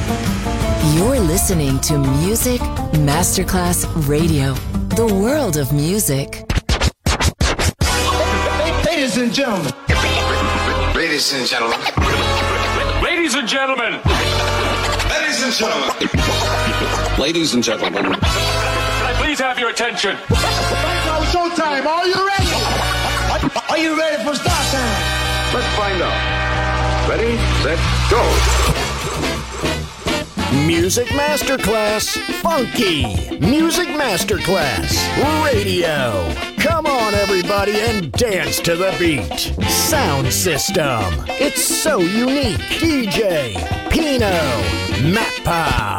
You're listening to Music Masterclass Radio, the world of music. Ladies and gentlemen. Ladies and gentlemen. Ladies and gentlemen. Ladies and gentlemen. Ladies and gentlemen. Can I please have your attention? Right now, showtime. Are you ready? Are you ready for start time? Let's find out. Ready, set, go. Music Masterclass Funky. Music Masterclass Radio. Come on, everybody, and dance to the beat. Sound system. It's so unique. DJ Pino Mappa.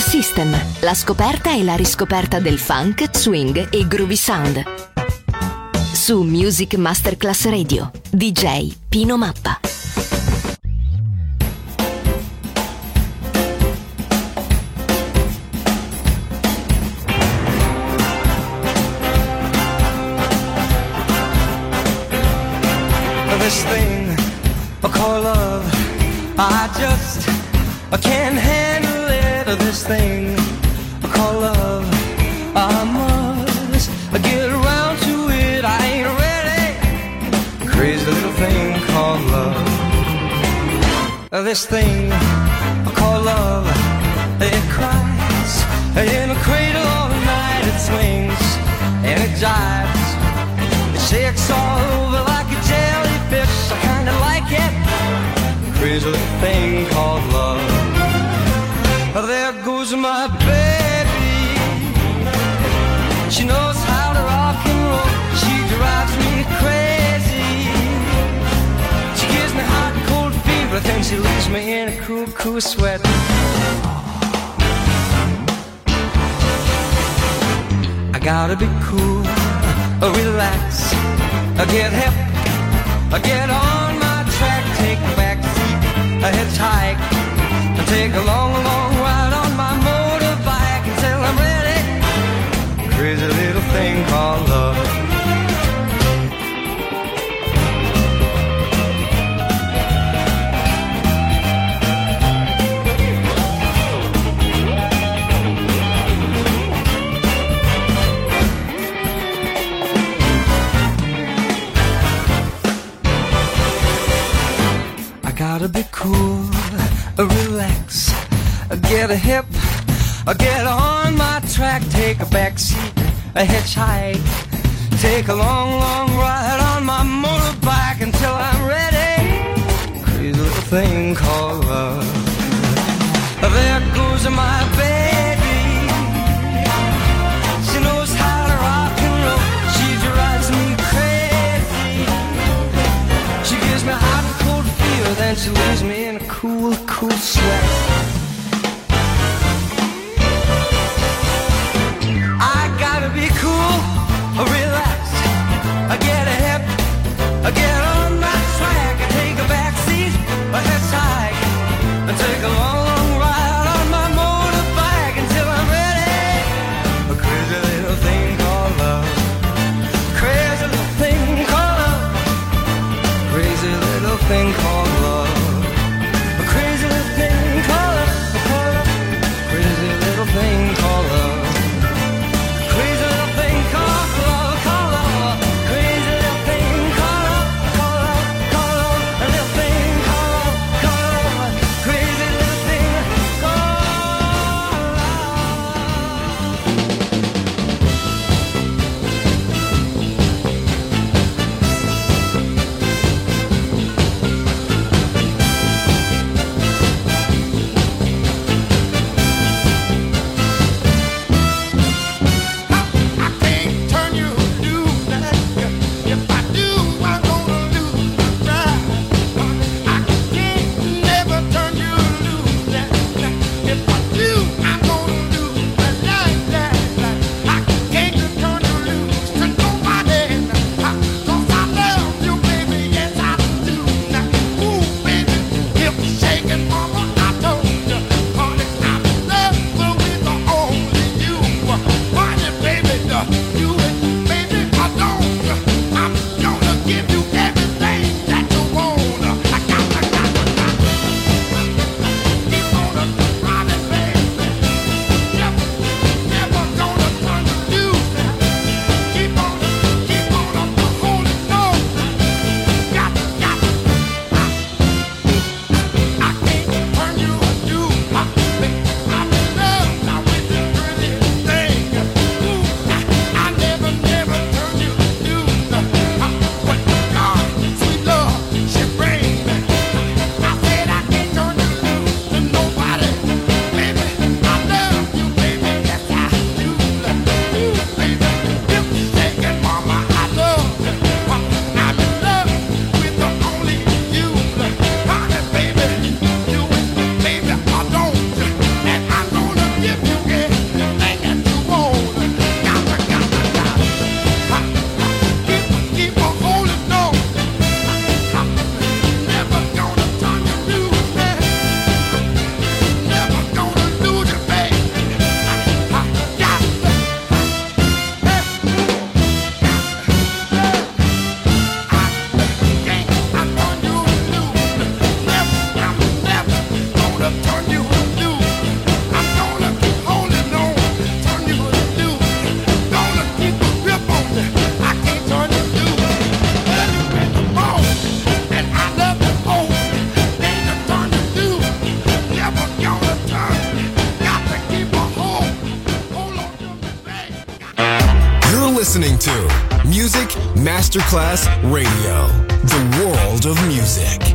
System, la scoperta e la riscoperta del funk, swing e groovy sound. Su Music Masterclass Radio, DJ Pino Mappa. This thing called love, I can't handle it. This thing called love, I must get around to it. I ain't ready. Crazy little thing called love. This thing called love, it cries in a cradle all night. It swings and it jives, it shakes all over like a jellyfish. I kinda like it. Crazy little thing called love. There goes my baby. She knows how to rock and roll. She drives me crazy. She gives me hot and cold fever, then she leaves me in a cool, cool sweat. I gotta be cool, relax, get hip, get on my track, take a back seat, hitchhike, take a long, long ride on my motorbike until I'm ready. Crazy little thing called love. Gotta be cool, relax, get a hip, get on my track, take a back seat, a hitchhike, take a long, long ride on my motorbike until I'm ready. Crazy little thing called love. There goes my baby. She knows how to rock and roll. She drives me crazy. She gives me hot and cold fever, then she leaves me in a cool, cool sweat. I gotta be cool, relax, I get a hip, I get on my track, I take a back seat, I hitchhike, I take a long, long ride on my motorbike until I'm ready. A crazy little thing called love. Crazy little thing called love. Crazy little thing called love. A crazy little thing called love. Crazy little thing called love. Crazy little thing called love, called love. Crazy little thing called love, called love, called love. A little thing called love, called love. Crazy little thing called love. listening to Music Masterclass Radio, the world of music.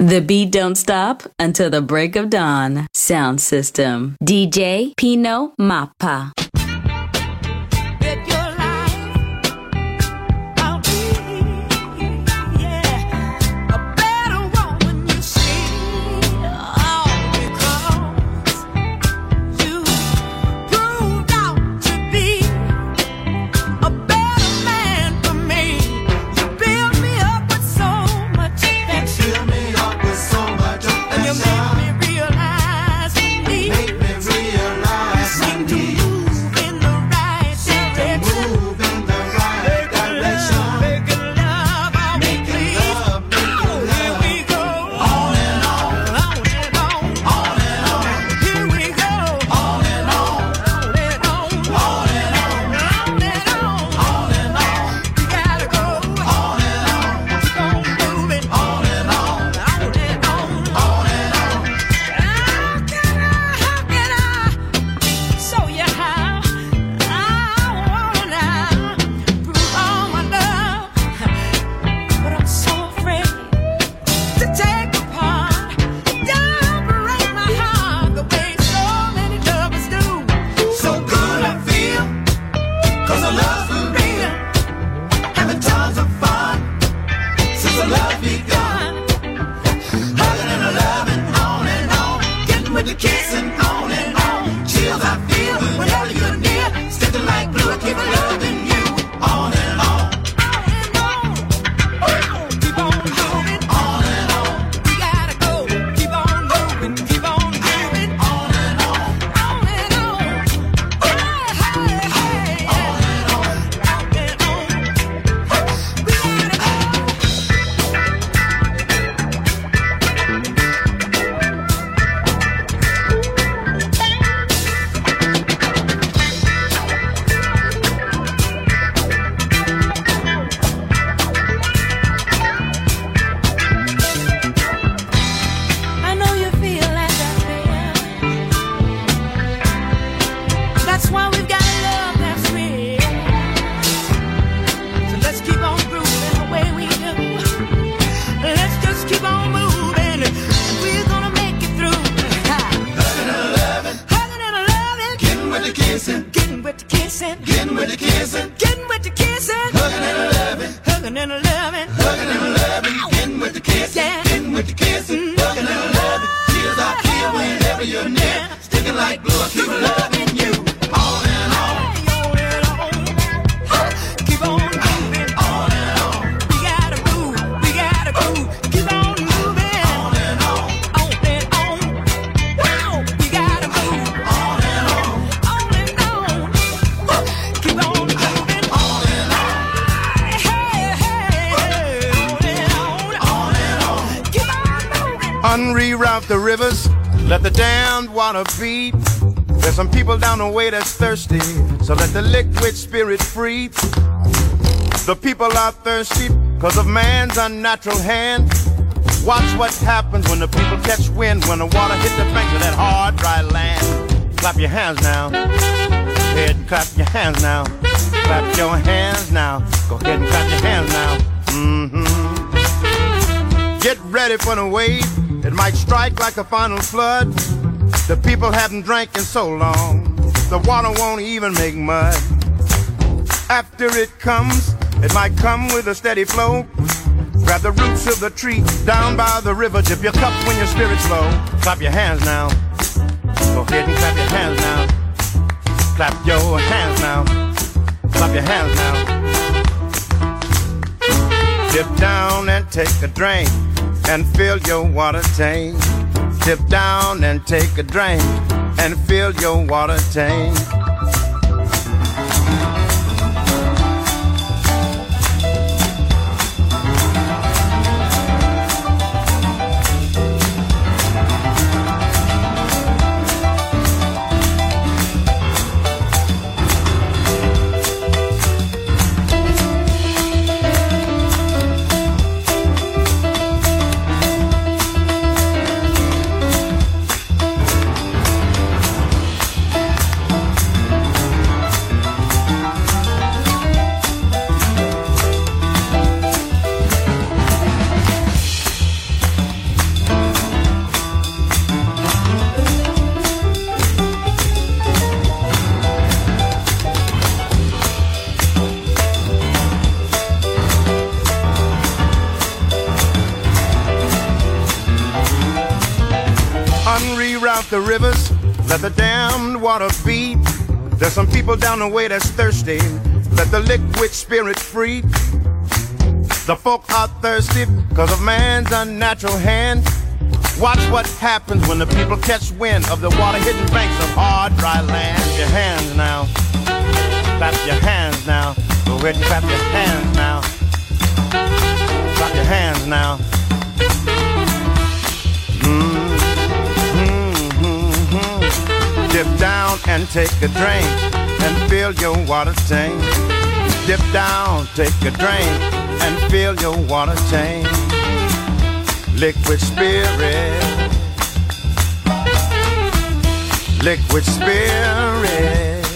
The beat don't stop until the break of dawn. Sound system. DJ Pino Mappa. Unreroute the rivers, let the damned water beat. There's some people down the way that's thirsty, so let the liquid spirit free. The people are thirsty because of man's unnatural hand. Watch what happens when the people catch wind, when the water hits the banks of that hard, dry land. Clap your hands now. Go ahead and clap your hands now. Clap your hands now. Go ahead and clap your hands now. Get ready for the wave. It might strike like a final flood. The people haven't drank in so long, the water won't even make mud. After it comes, it might come with a steady flow. Grab the roots of the tree down by the river. Dip your cup when your spirit's low. Clap your hands now. Go ahead and clap your hands now. Clap your hands now. Clap your hands now. Dip down and take a drink and fill your water tank. Dip down and take a drink and fill your water tank. reroute the rivers, let the damned water beat. There's some people down the way that's thirsty, let the liquid spirit free. The folk are thirsty because of man's unnatural hand. Watch what happens when the people catch wind of the water-hidden banks of hard, dry land. Clap your hands now. Clap your hands now. Go ahead and clap your hands now. Clap your hands now. Dip down and take a drink and fill your water tank. Dip down, take a drink and fill your water tank. Liquid spirit, liquid spirit,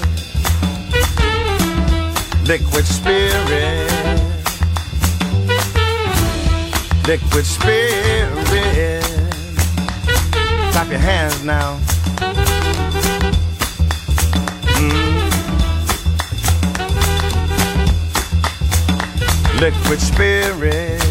liquid spirit, liquid spirit. Clap your hands now. Liquid spirit.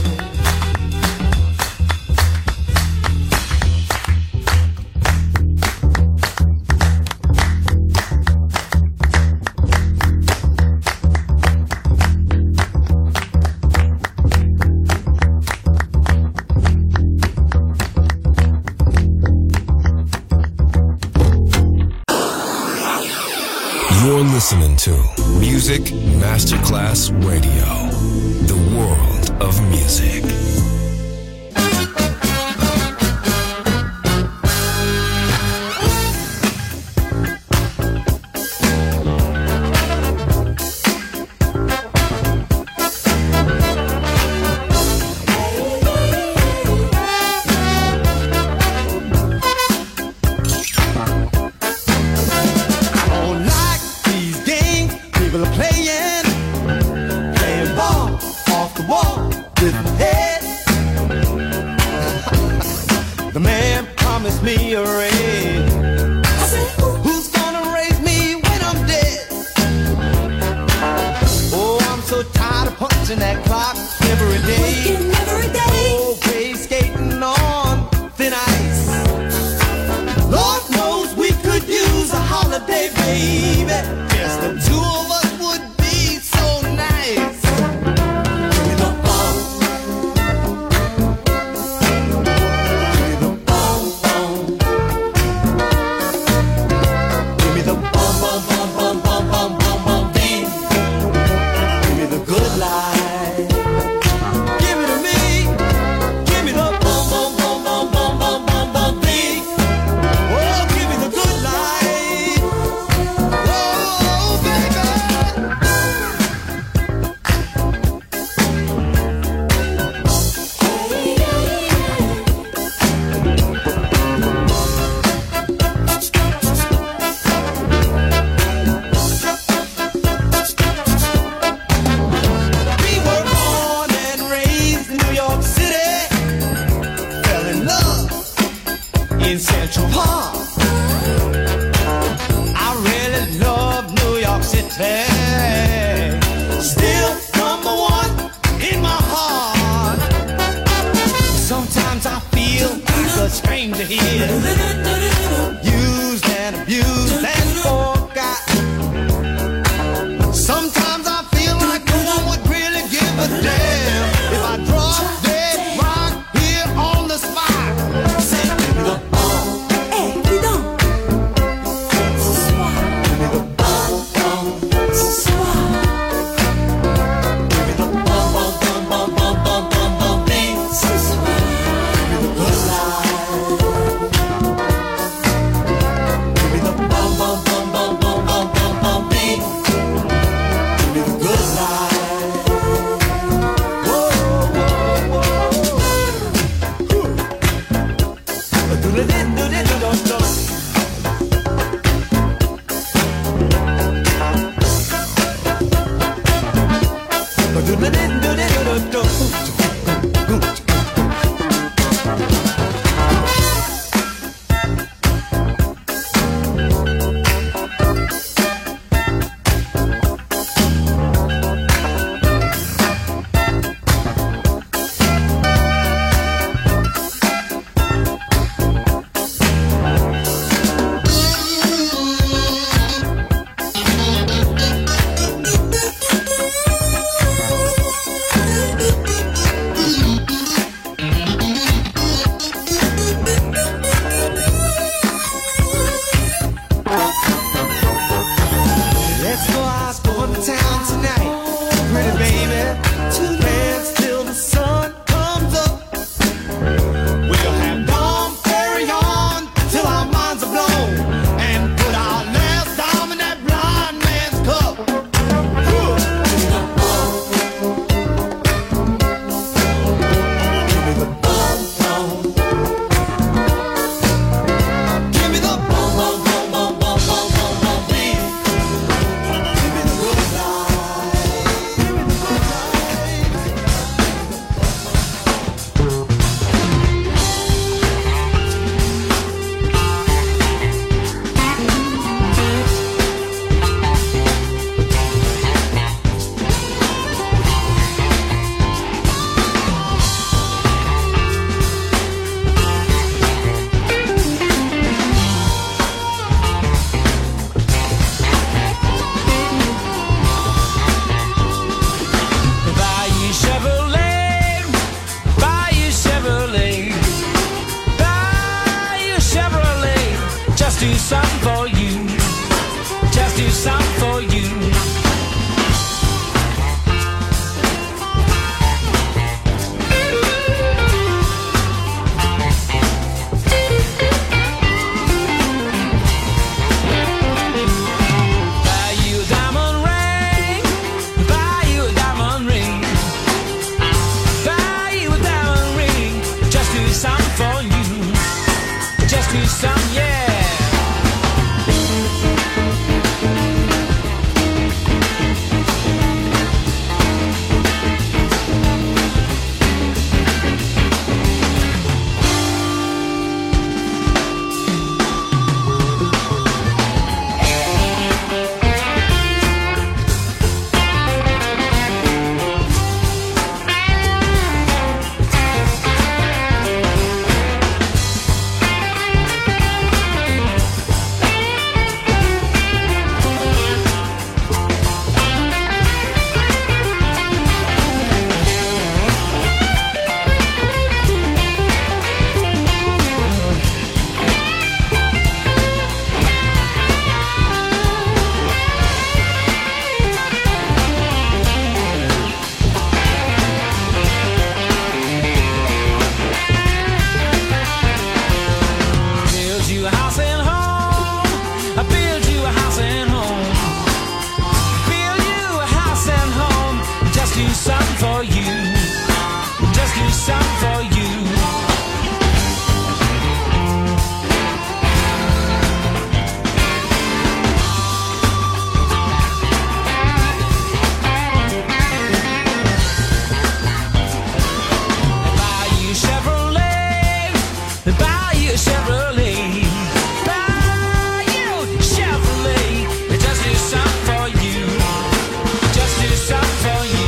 You're listening to Music Masterclass Radio, the world of music. over the town tonight. Pretty baby, dance till the sun comes up. We'll have Dom Perry on till our minds are blown, and put our last dime in that blind man's cup. Give me the bum bum. Give me the bum bum bum bum bum bum bum bum beat. Give me the good life. Give me the good Bayou Chevrolet, Bayou Chevrolet, Bayou Chevrolet. Just do something for you. Just do something for you. Buy you a diamond ring, buy you a diamond ring, buy you a diamond ring. Just do something for you. Just do something, yeah. Build you a house and home. I build you a house and home. Build you a house and home. Just do something for you. Just do something for you. Bayou Chevrolet, Bayou Chevrolet, Bayou Chevrolet. Just do something for you. Just do something for you.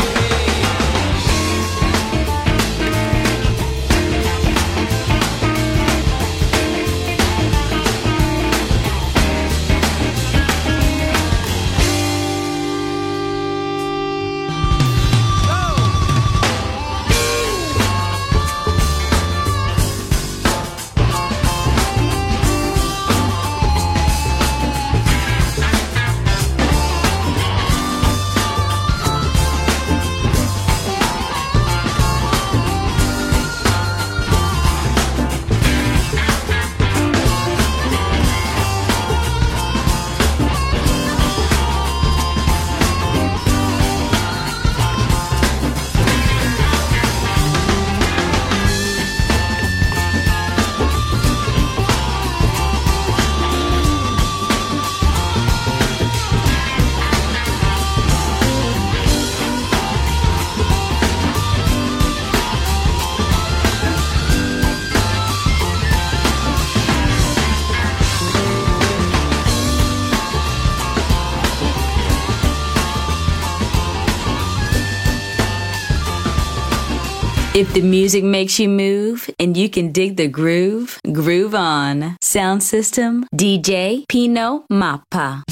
If the music makes you move and you can dig the groove, groove on. Sound system, DJ Pino Mappa.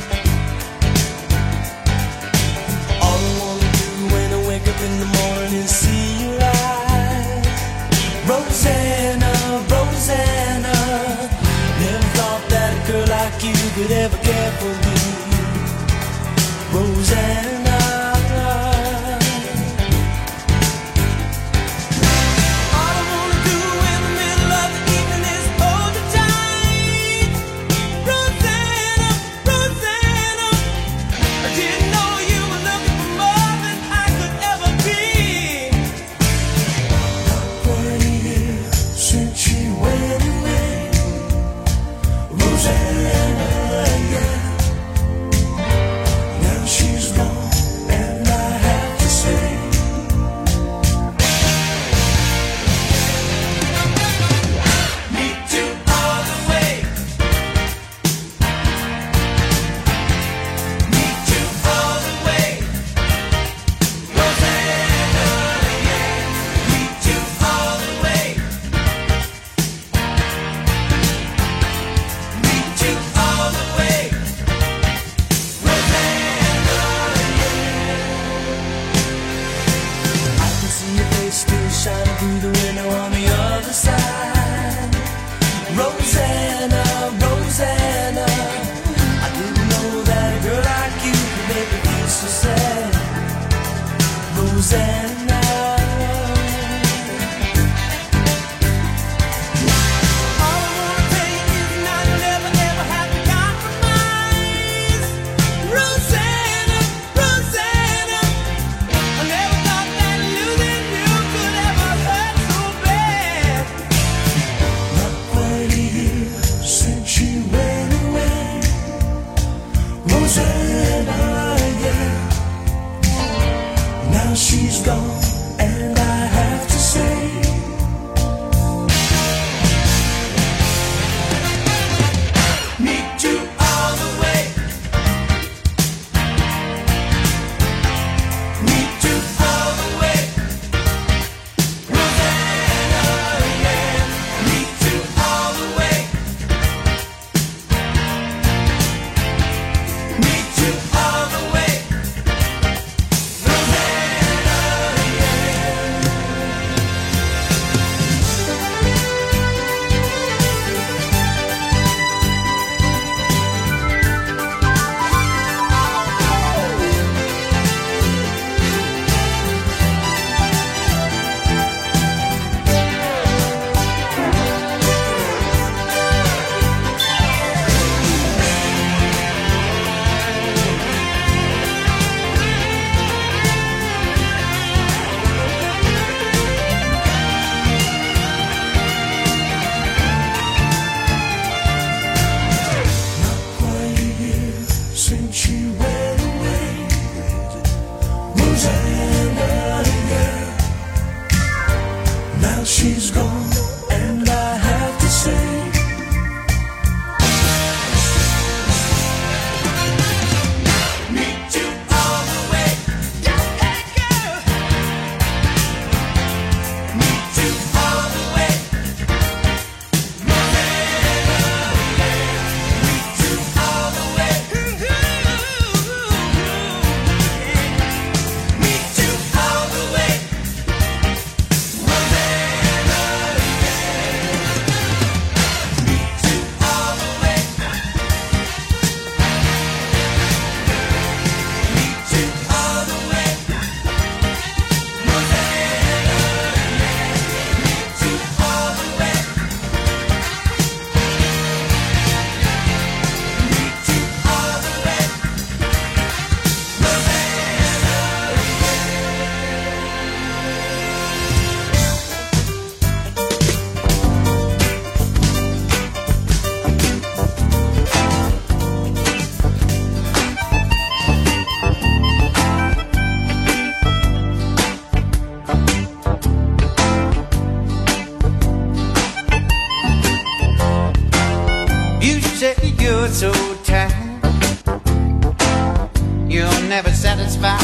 All I wanna do when I wake up in the morning is see your eyes. Rosanna, Rosanna, never thought that a girl like you could ever care for me. Rosanna. you're so tired, you're never satisfied.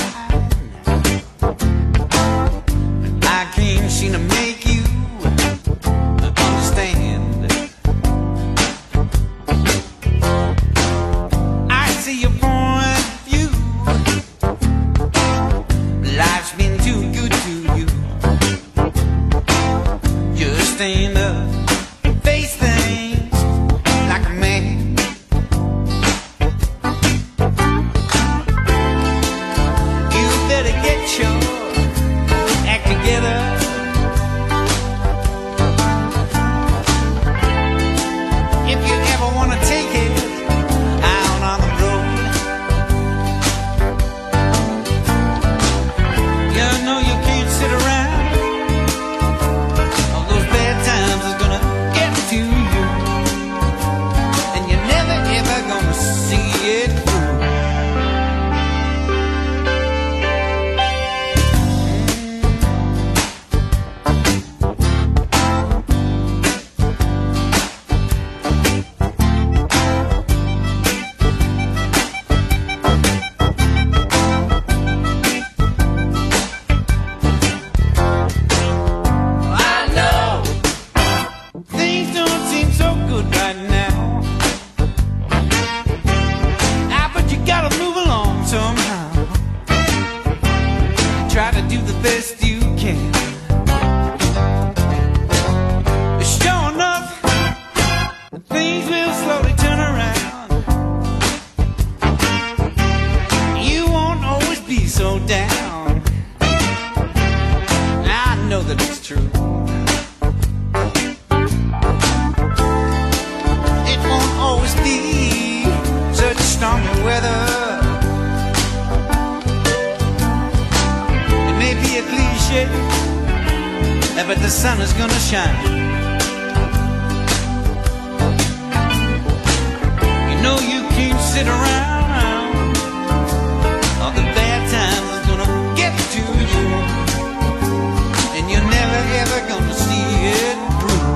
I can't seem to make you understand. I see your point of view. Life's been too good to you. stand up, face things like a man. You better get your act together. If you ever want to take it out on the road, you know you can't sit around. All those bad times is gonna get to you, and you're never ever gonna see it through. But the sun is gonna shine. You know you can't sit around. All the bad times is gonna get to you, and you're never ever gonna see it through.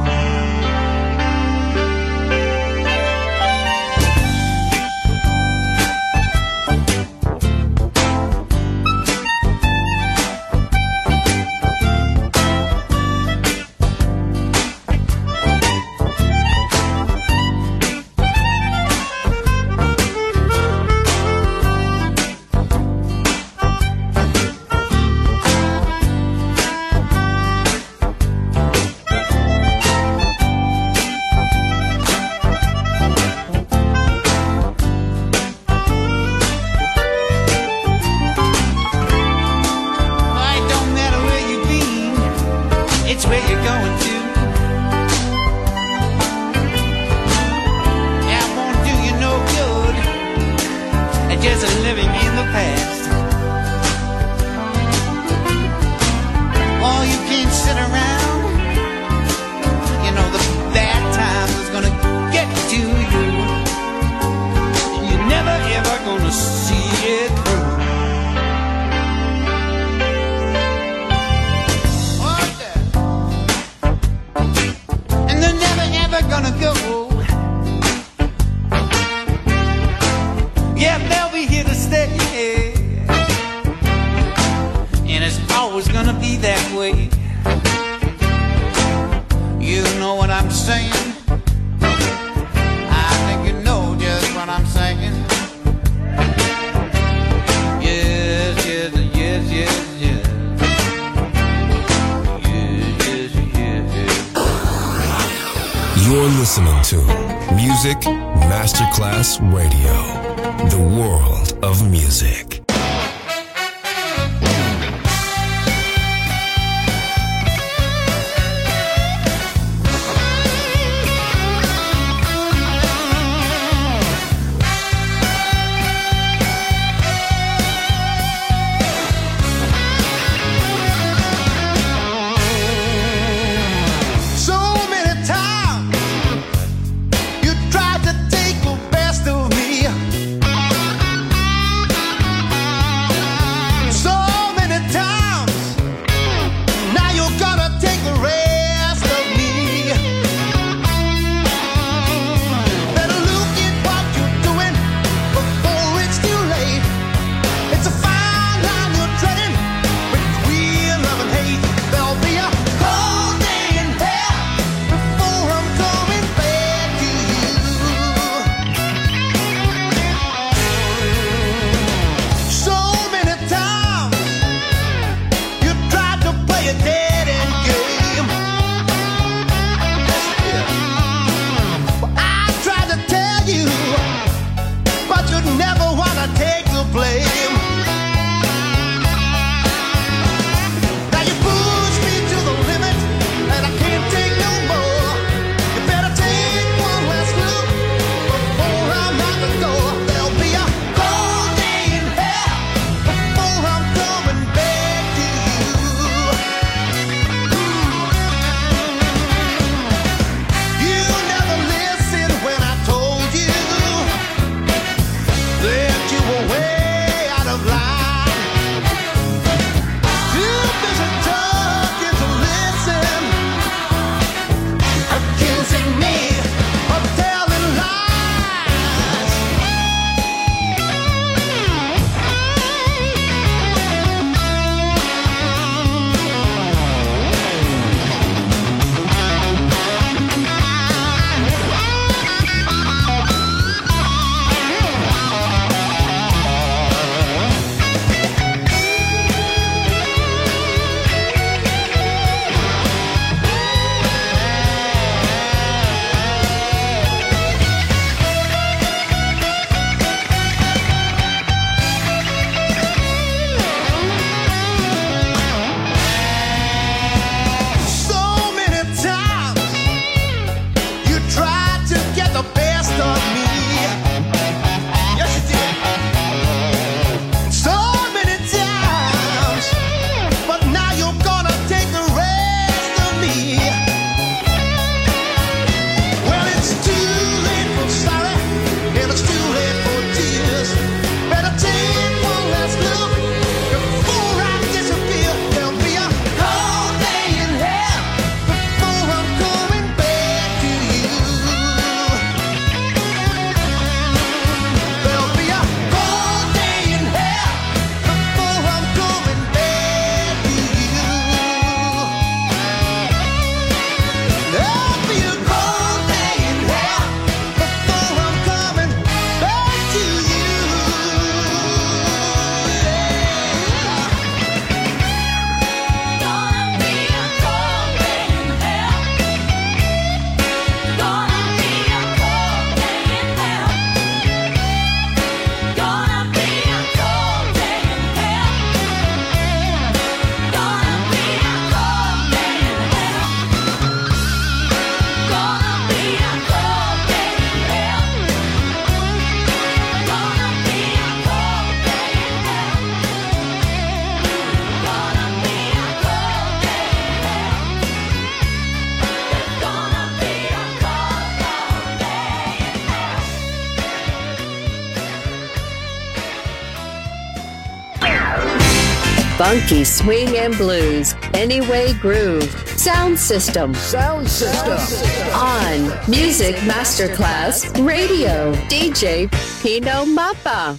You're listening to Music Masterclass Radio, the world of music. Tried to take the best of me. Funky swing and blues, Anyway Groove, Sound System. Sound System. On Music Masterclass Radio, DJ Pino Mappa.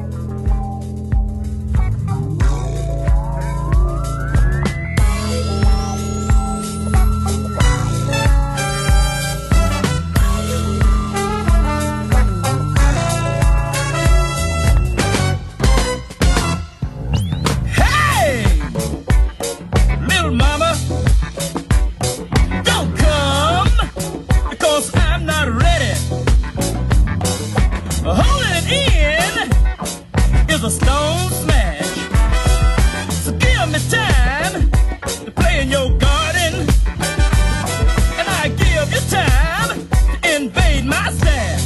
A stone smash. So give me time to play in your garden, and I give you time to invade my stash.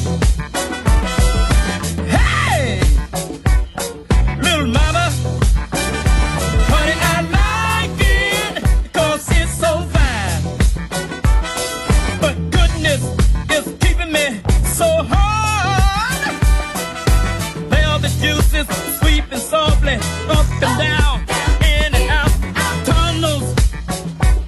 Hey, little mama, honey, I like it because it's so fine. But goodness is keeping me so hard. Well, the juice is sweeping softly up and down, in and out tunnels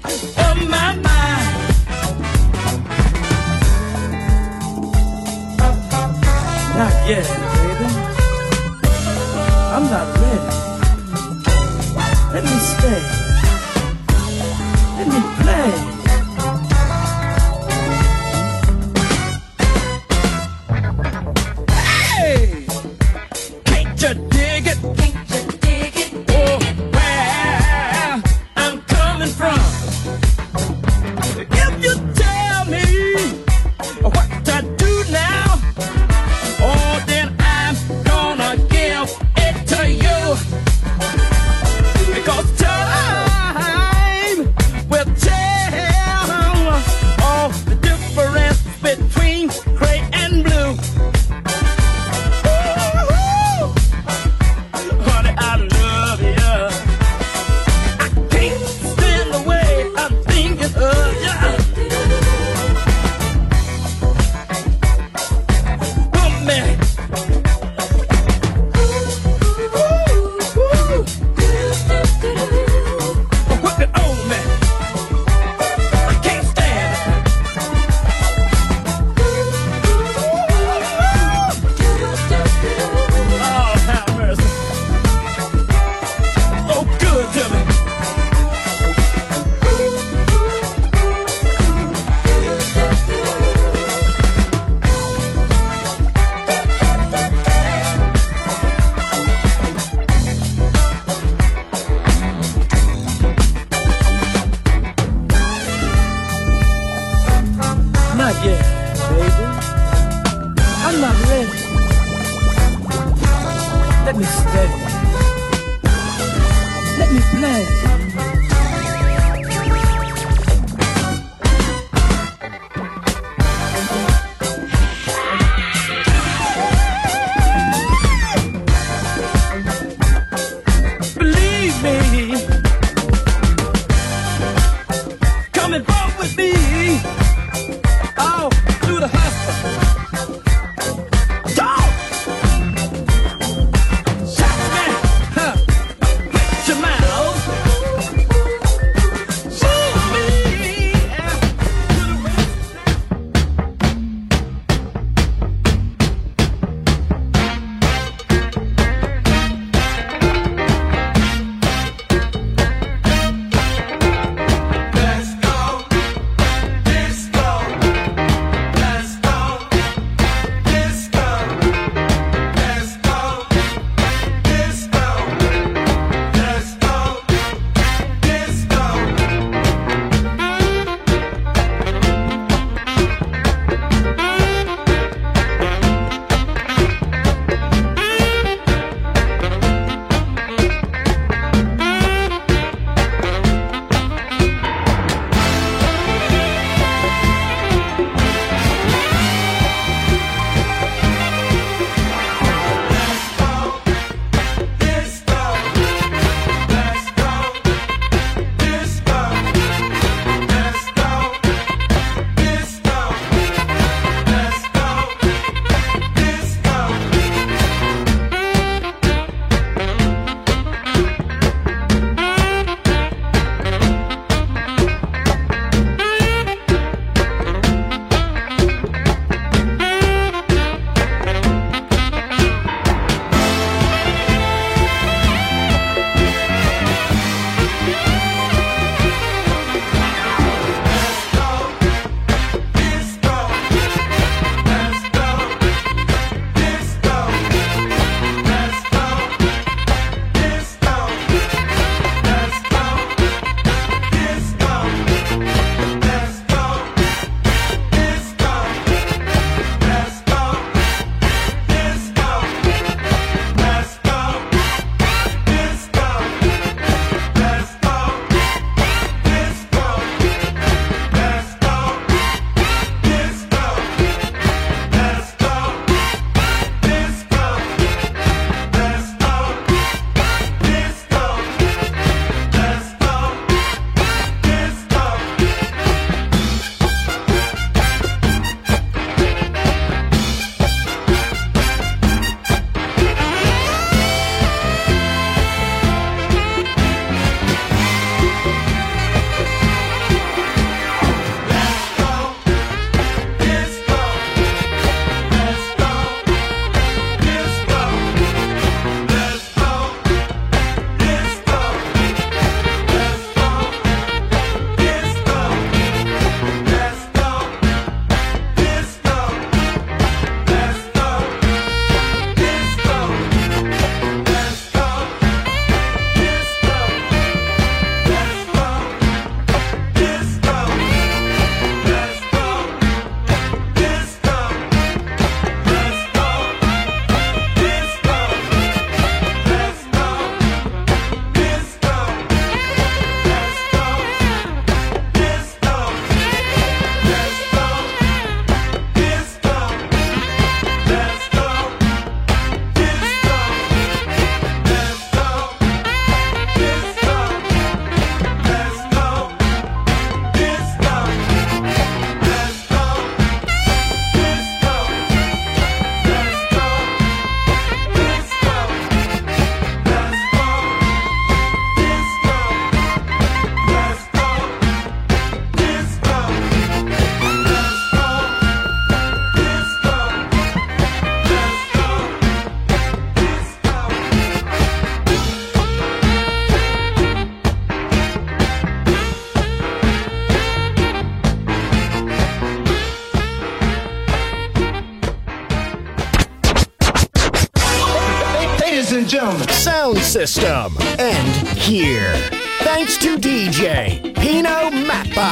and gentlemen. Sound system. And here. Thanks to DJ Pino Mappa.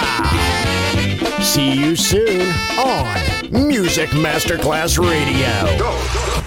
See you soon on Music Masterclass Radio. Go.